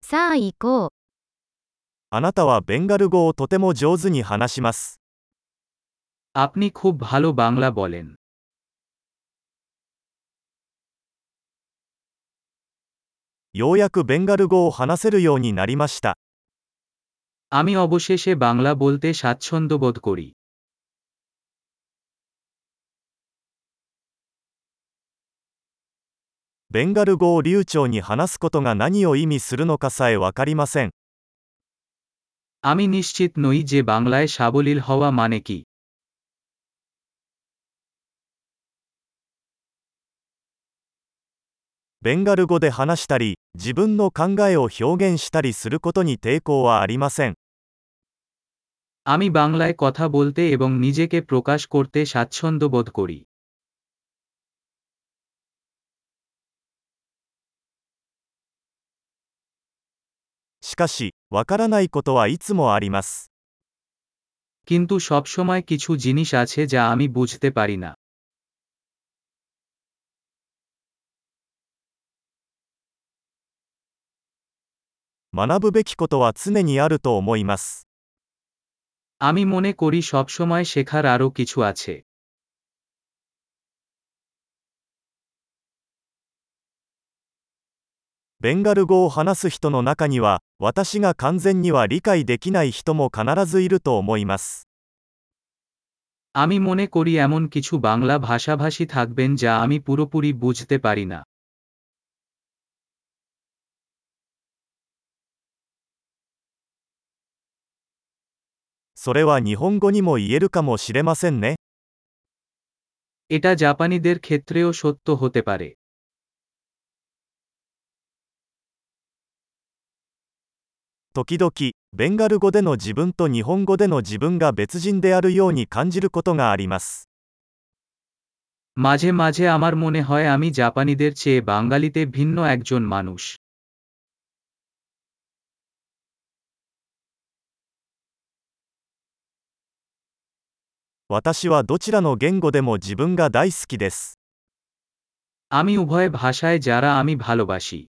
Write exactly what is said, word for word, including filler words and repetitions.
さあ行こう。 あなたはベンガル語をとても上手に話します。 আপনি খুব ভালো বাংলা বলেন। ようやくベンガル語を話せるようになりました。 আমি অবশেষে বাংলা বলতে স্বাচ্ছন্দ্য বোধ করি। ベンガル語を流暢に話すことが何を意味するのかさえわかりません。 আমি নিশ্চিত নই যে বাংলায় সাবলীল হওয়া মানে কি। ベンガル語で話したり、自分の考えを表現したりすることに抵抗はありません。 আমি বাংলায় কথা বলতে এবং নিজেকে প্রকাশ করতে স্বাচ্ছন্দ্য বোধ করি। しかし、わからないことはいつもあります。 কিন্তু সবসময় কিছু জিনিস আছে যা আমি বুঝতে পারি না। 学ぶべきことは常にあると思います。 আমি মনে করি সবসময় শেখার আরও কিছু আছে। ベンガル語を話す人の中には、私が完全には理解できない人も必ずいると思います。 আমি মনে করি এমন কিছু বাংলা ভাষাভাষী থাকবেন যা আমি পুরোপুরি বুঝতে পারি না। それは日本語にも言えるかもしれませんね。 এটা জাপানিদের ক্ষেত্রেও সত্য হতে পারে। 時々、ベンガル語での自分と日本語での自分が別人であるように感じることがあります。 মাঝে মাঝে আমার মনে হয় আমি জাপানিদের চেয়ে বাঙালিতে ভিন্ন একজন মানুষ। 私はどちらの言語でも自分が大好きです。 আমি উভয় ভাষায় যারা আমি ভালোবাসি।